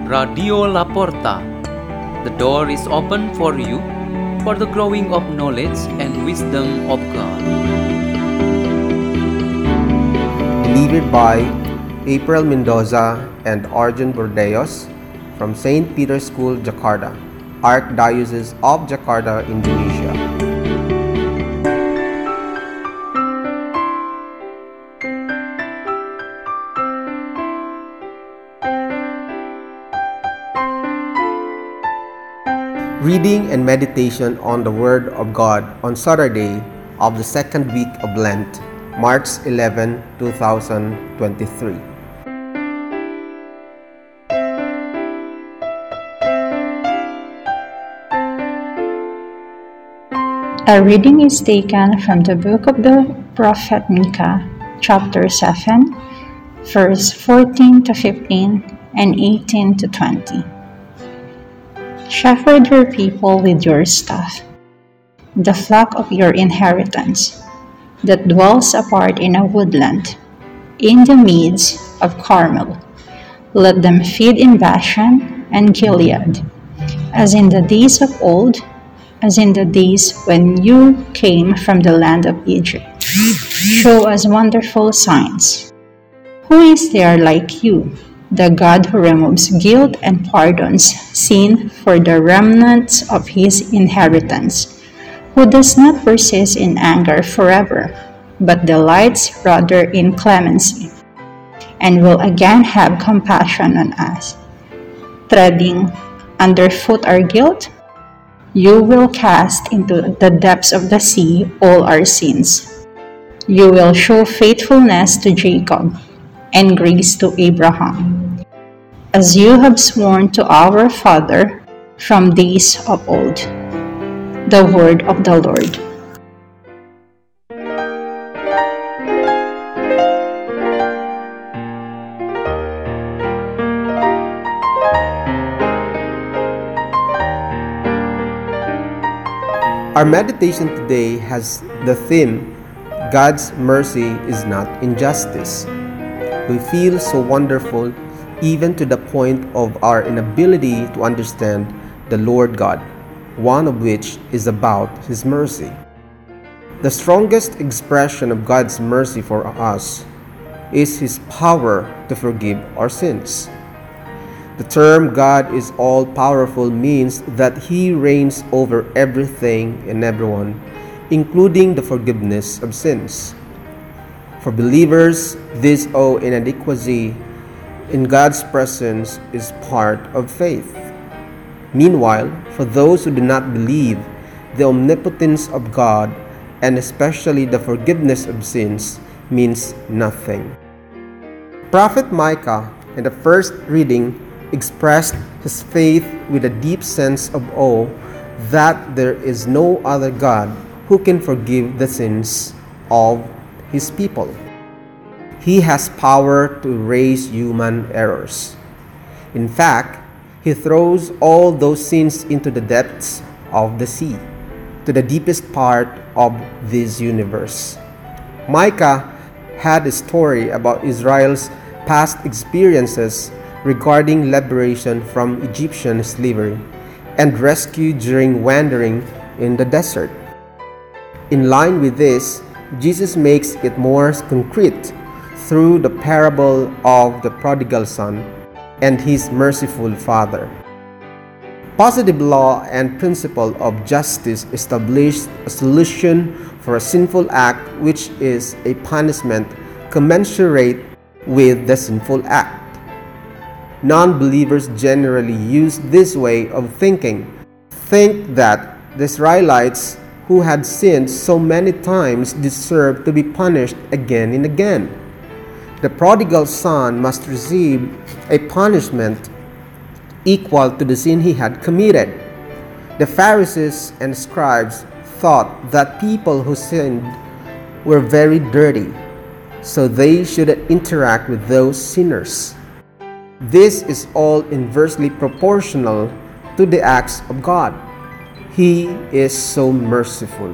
Radio Laporta. The door is open for you for the growing of knowledge and wisdom of God. Delivered by April Mendoza and Arjun Bordeos from St. Peter's School, Jakarta, Archdiocese of Jakarta, Indonesia. Reading and meditation on the Word of God on Saturday of the second week of Lent, March 11, 2023. A reading is taken from the book of the prophet Micah, chapter 7, verse 14 to 15 and 18 to 20. Shepherd your people with your staff, the flock of your inheritance, that dwells apart in a woodland, in the meads of Carmel. Let them feed in Bashan and Gilead, as in the days of old, as in the days when you came from the land of Egypt. Show us wonderful signs. Who is there like you, the God who removes guilt and pardons sin for the remnants of his inheritance, who does not persist in anger forever, but delights rather in clemency, and will again have compassion on us. Treading underfoot our guilt, you will cast into the depths of the sea all our sins. You will show faithfulness to Jacob and grace to Abraham, as you have sworn to our father from days of old. The word of the Lord. Our meditation today has the theme, God's mercy is not injustice. We feel so wonderful even to the point of our inability to understand the Lord God, one of which is about His mercy. The strongest expression of God's mercy for us is His power to forgive our sins. The term God is all-powerful means that He reigns over everything and everyone, including the forgiveness of sins. For believers, this awe and inadequacy in God's presence is part of faith. Meanwhile, for those who do not believe, the omnipotence of God, and especially the forgiveness of sins, means nothing. Prophet Micah, in the first reading, expressed his faith with a deep sense of awe that there is no other God who can forgive the sins of His people. He has power to erase human errors. In fact, He throws all those sins into the depths of the sea, to the deepest part of this universe. Micah had a story about Israel's past experiences regarding liberation from Egyptian slavery and rescue during wandering in the desert. In line with this, Jesus makes it more concrete through the parable of the prodigal son and his merciful father. Positive law and principle of justice established a solution for a sinful act, which is a punishment commensurate with the sinful act. Non-believers generally use this way of thinking, think that the Israelites who had sinned so many times deserve to be punished again and again. The prodigal son must receive a punishment equal to the sin he had committed. The Pharisees and scribes thought that people who sinned were very dirty, so they shouldn't interact with those sinners. This is all inversely proportional to the acts of God. He is so merciful.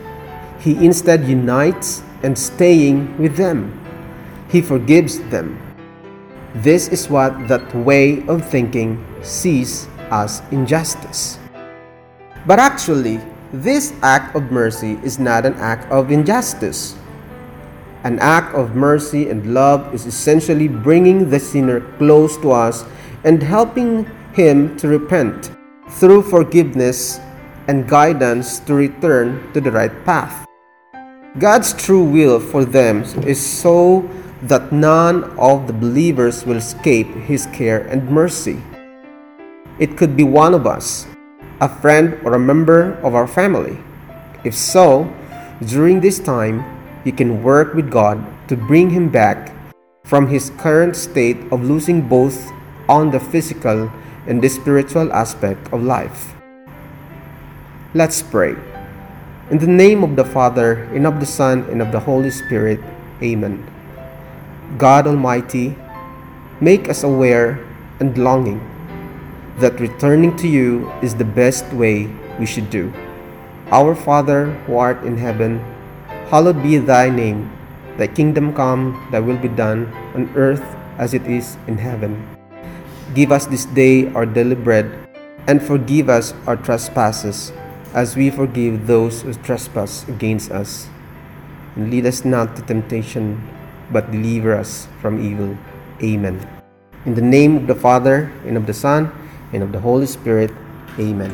He instead unites and staying with them. He forgives them. This is what that way of thinking sees as injustice. But actually, this act of mercy is not an act of injustice. An act of mercy and love is essentially bringing the sinner close to us and helping him to repent through forgiveness and guidance to return to the right path. God's true will for them is so that none of the believers will escape His care and mercy. It could be one of us, a friend or a member of our family. If so, during this time, you can work with God to bring him back from his current state of losing both on the physical and the spiritual aspect of life. Let's pray. In the name of the Father, and of the Son, and of the Holy Spirit. Amen. God Almighty, make us aware and longing that returning to you is the best way we should do. Our Father, who art in heaven, hallowed be thy name. Thy kingdom come, thy will be done, on earth as it is in heaven. Give us this day our daily bread, and forgive us our trespasses, as we forgive those who trespass against us. And lead us not to temptation, but deliver us from evil. Amen. In the name of the Father, and of the Son, and of the Holy Spirit. Amen.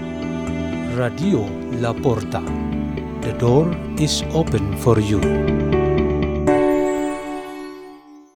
Radio La Porta. The door is open for you.